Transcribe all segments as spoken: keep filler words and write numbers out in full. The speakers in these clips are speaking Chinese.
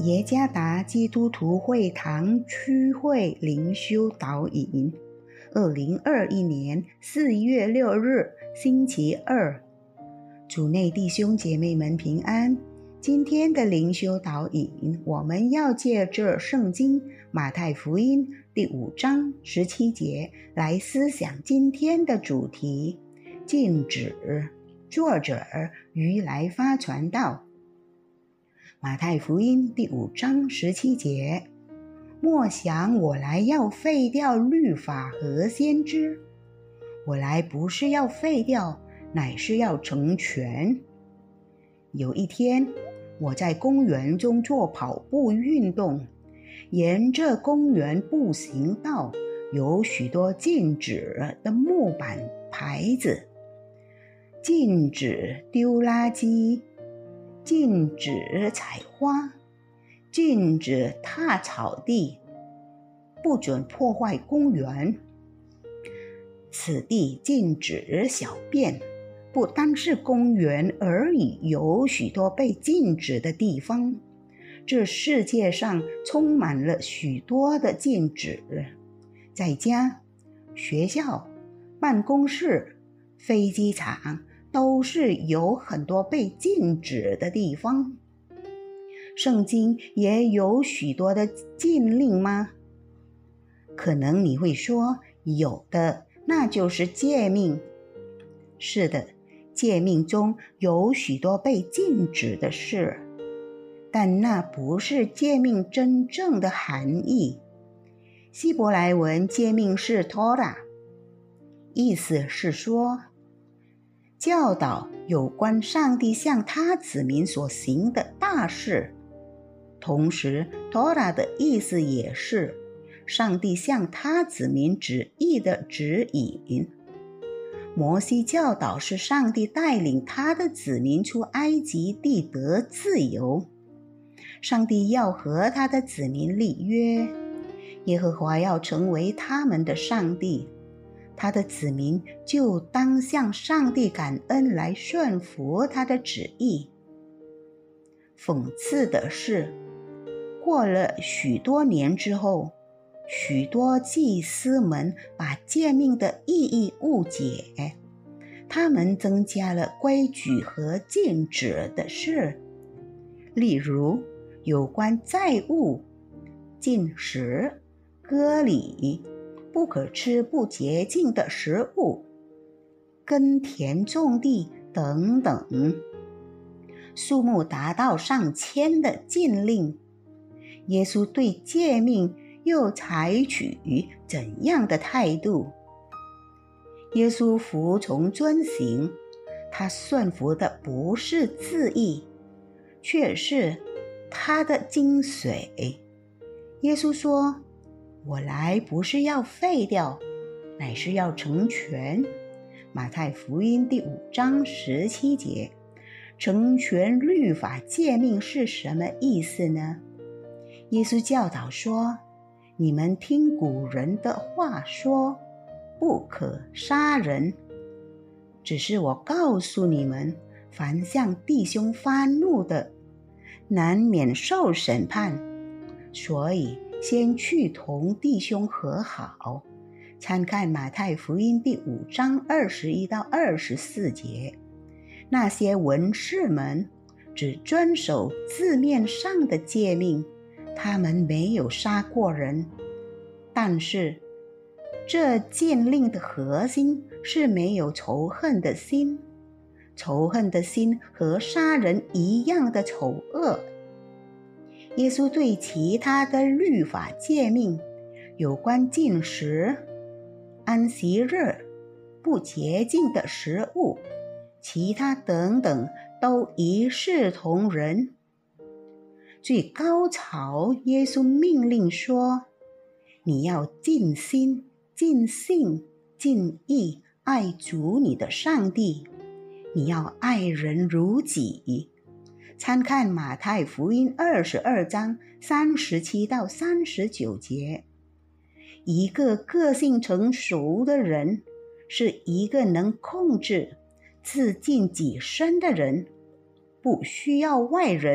耶加达基督徒会堂区会灵修导引，二零二一年四月六日星期二，主内弟兄姐妹们平安。今天的灵修导引，我们要借着圣经马太福音第五章十七节来思想今天的主题：禁止。作者于来发传道。马太福音第五章十七节，莫想我来要废掉律法和先知，我来不是要废掉，乃是要成全。有一天，我在公园中做跑步运动，沿着公园步行道有许多禁止的木板牌子，禁止丢垃圾，禁止采花，禁止踏草地，不准破坏公园。此地禁止小便，不单是公园而已，有许多被禁止的地方。这世界上充满了许多的禁止，在家、学校、办公室、飞机场都是有很多被禁止的地方。圣经也有许多的禁令吗？可能你会说，有的，那就是诫命。是的，诫命中有许多被禁止的事，但那不是诫命真正的含义。希伯来文诫命是 Torah， 意思是说教导有关上帝向他子民所行的大事。同时 Torah 的意思也是上帝向他子民旨意的指引。摩西教导是上帝带领他的子民出埃及地得自由，上帝要和他的子民立约，耶和华要成为他们的上帝，他的子民就当向上帝感恩来顺服他的旨意。讽刺的是，过了许多年之后，许多祭司们把诫命的意义误解，他们增加了规矩和禁止的事，例如有关债务、禁食、割礼、不可吃不洁净的食物、耕田种地等等，数目达到上千的禁令。耶稣对诫命又采取怎样的态度？耶稣服从遵行，他顺服的不是字义，却是他的精髓。耶稣说，我来不是要废掉，乃是要成全。马太福音第五章十七节，成全律法诫命是什么意思呢？耶稣教导说，你们听古人的话说，不可杀人。只是我告诉你们，凡向弟兄发怒的，难免受审判。所以先去同弟兄和好。参看马太福音第五章二十一到二十四节。那些文士们只遵守字面上的诫命，他们没有杀过人，但是这禁令的核心是没有仇恨的心，仇恨的心和杀人一样的丑恶。耶稣对其他的律法诫命，有关禁食、安息日、不洁净的食物，其他等等，都一视同仁。最高潮，耶稣命令说，你要尽心、尽性、尽意爱主你的上帝，你要爱人如己。参看马太福音二十二章三十七到三十九节。一个个性成熟的人，是一个能控制自尽己身的人，不需要外人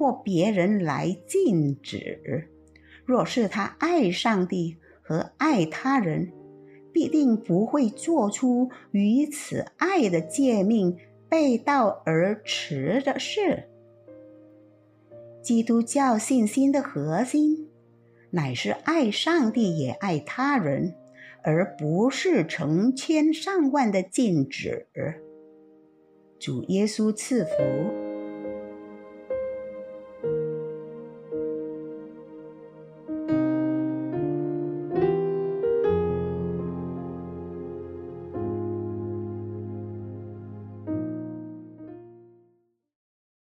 或别人来禁止。若是他爱上帝和爱他人，必定不会做出与此爱的诫命背道而驰的事。基督教信心的核心，乃是爱上帝也爱他人，而不是成千上万的禁止。主耶稣赐福。